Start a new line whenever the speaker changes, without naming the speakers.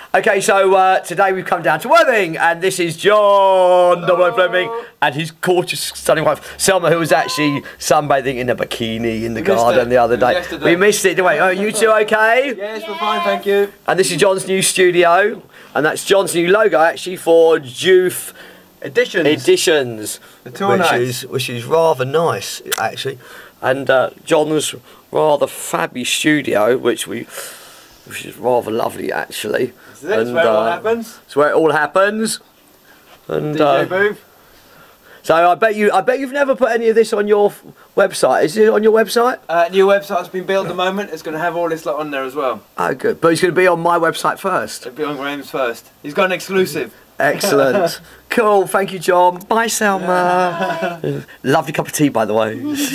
Okay, so today we've come down to Worthing, and this is John Double Fleming and his gorgeous, stunning wife Selma, who was actually sunbathing in a bikini in the garden the other day. We missed it, didn't we? Oh, you two okay?
Yes, we're fine, thank you.
And this is John's new studio, and that's John's new logo actually for Joof Editions, which is rather nice actually, and John's rather fabby studio, which is rather lovely actually.
That's where it all happens.
It's where it all happens. And
DJ booth.
So I bet you've never put any of this on your website. Is it on your website?
New website's been built at the moment. It's going to have all this lot on there as well.
Oh, good. But it's going to be on my website first.
It'll be on Graham's first. He's got an exclusive.
Excellent. Cool. Thank you, John. Bye, Selma. Lovely cup of tea, by the way.